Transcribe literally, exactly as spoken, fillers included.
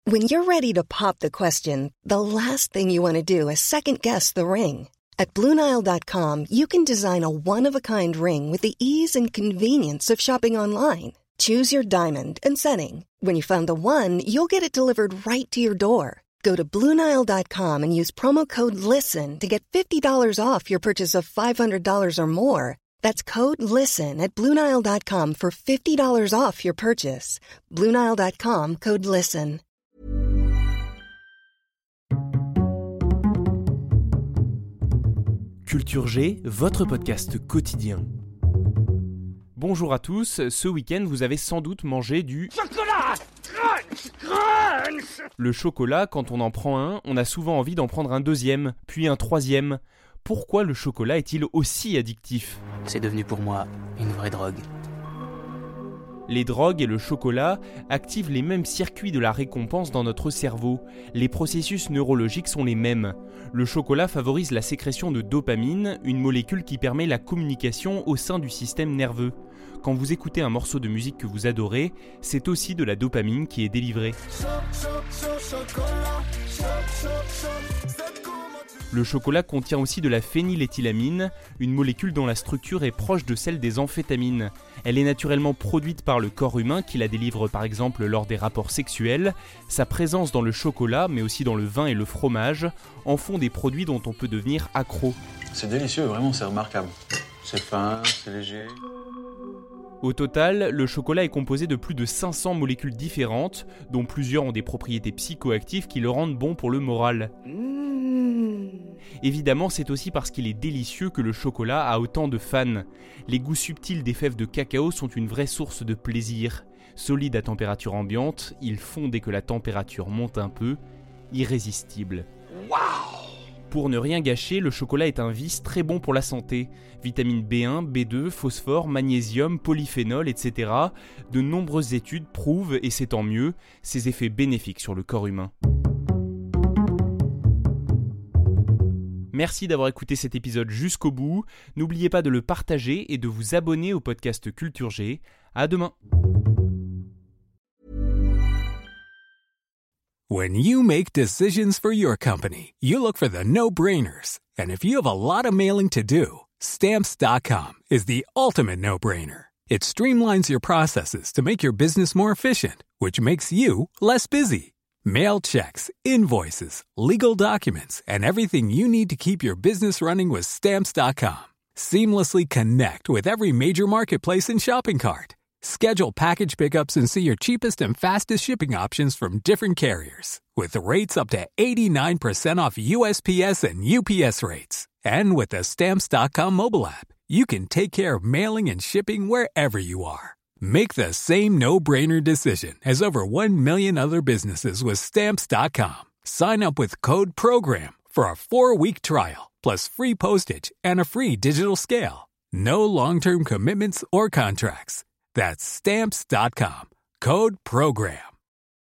When you're ready to pop the question, the last thing you want to do is second-guess the ring. At Blue Nile dot com, you can design a one-of-a-kind ring with the ease and convenience of shopping online. Choose your diamond and setting. When you find the one, you'll get it delivered right to your door. Go to Blue Nile dot com and use promo code LISTEN to get fifty dollars off your purchase of five hundred dollars or more. That's code LISTEN at Blue Nile dot com for fifty dollars off your purchase. Blue Nile dot com, code LISTEN. Culture G, votre podcast quotidien. Bonjour à tous, ce week-end vous avez sans doute mangé du chocolat crunch, crunch. Le chocolat, quand on en prend un, on a souvent envie d'en prendre un deuxième, puis un troisième. Pourquoi le chocolat est-il aussi addictif ? C'est devenu pour moi une vraie drogue. Les drogues et le chocolat activent les mêmes circuits de la récompense dans notre cerveau. Les processus neurologiques sont les mêmes. Le chocolat favorise la sécrétion de dopamine, une molécule qui permet la communication au sein du système nerveux. Quand vous écoutez un morceau de musique que vous adorez, c'est aussi de la dopamine qui est délivrée. Le chocolat contient aussi de la phényléthylamine, une molécule dont la structure est proche de celle des amphétamines. Elle est naturellement produite par le corps humain qui la délivre par exemple lors des rapports sexuels. Sa présence dans le chocolat, mais aussi dans le vin et le fromage, en font des produits dont on peut devenir accro. C'est délicieux, vraiment, c'est remarquable. C'est fin, c'est léger. Au total, le chocolat est composé de plus de cinq cents molécules différentes, dont plusieurs ont des propriétés psychoactives qui le rendent bon pour le moral. Évidemment, c'est aussi parce qu'il est délicieux que le chocolat a autant de fans. Les goûts subtils des fèves de cacao sont une vraie source de plaisir. Solide à température ambiante, ils font dès que la température monte un peu, irrésistible. Waouh ! Pour ne rien gâcher, le chocolat est un vice très bon pour la santé. Vitamine B un, B deux, phosphore, magnésium, polyphénol, et cetera. De nombreuses études prouvent, et c'est tant mieux, ses effets bénéfiques sur le corps humain. Merci d'avoir écouté cet épisode jusqu'au bout. N'oubliez pas de le partager et de vous abonner au podcast Culture G. À demain. When you make decisions for your company, you look for the no-brainers. And if you have a lot of mailing to do, Stamps dot com is the ultimate no-brainer. It streamlines your processes to make your business more efficient, which makes you less busy. Mail checks, invoices, legal documents, and everything you need to keep your business running with Stamps dot com. Seamlessly connect with every major marketplace and shopping cart. Schedule package pickups and see your cheapest and fastest shipping options from different carriers. With rates up to eighty-nine percent off U S P S and U P S rates. And with the Stamps dot com mobile app, you can take care of mailing and shipping wherever you are. Make the same no-brainer decision as over one million other businesses with Stamps dot com. Sign up with code PROGRAM for a four-week trial, plus free postage and a free digital scale. No long-term commitments or contracts. That's Stamps dot com. Code PROGRAM.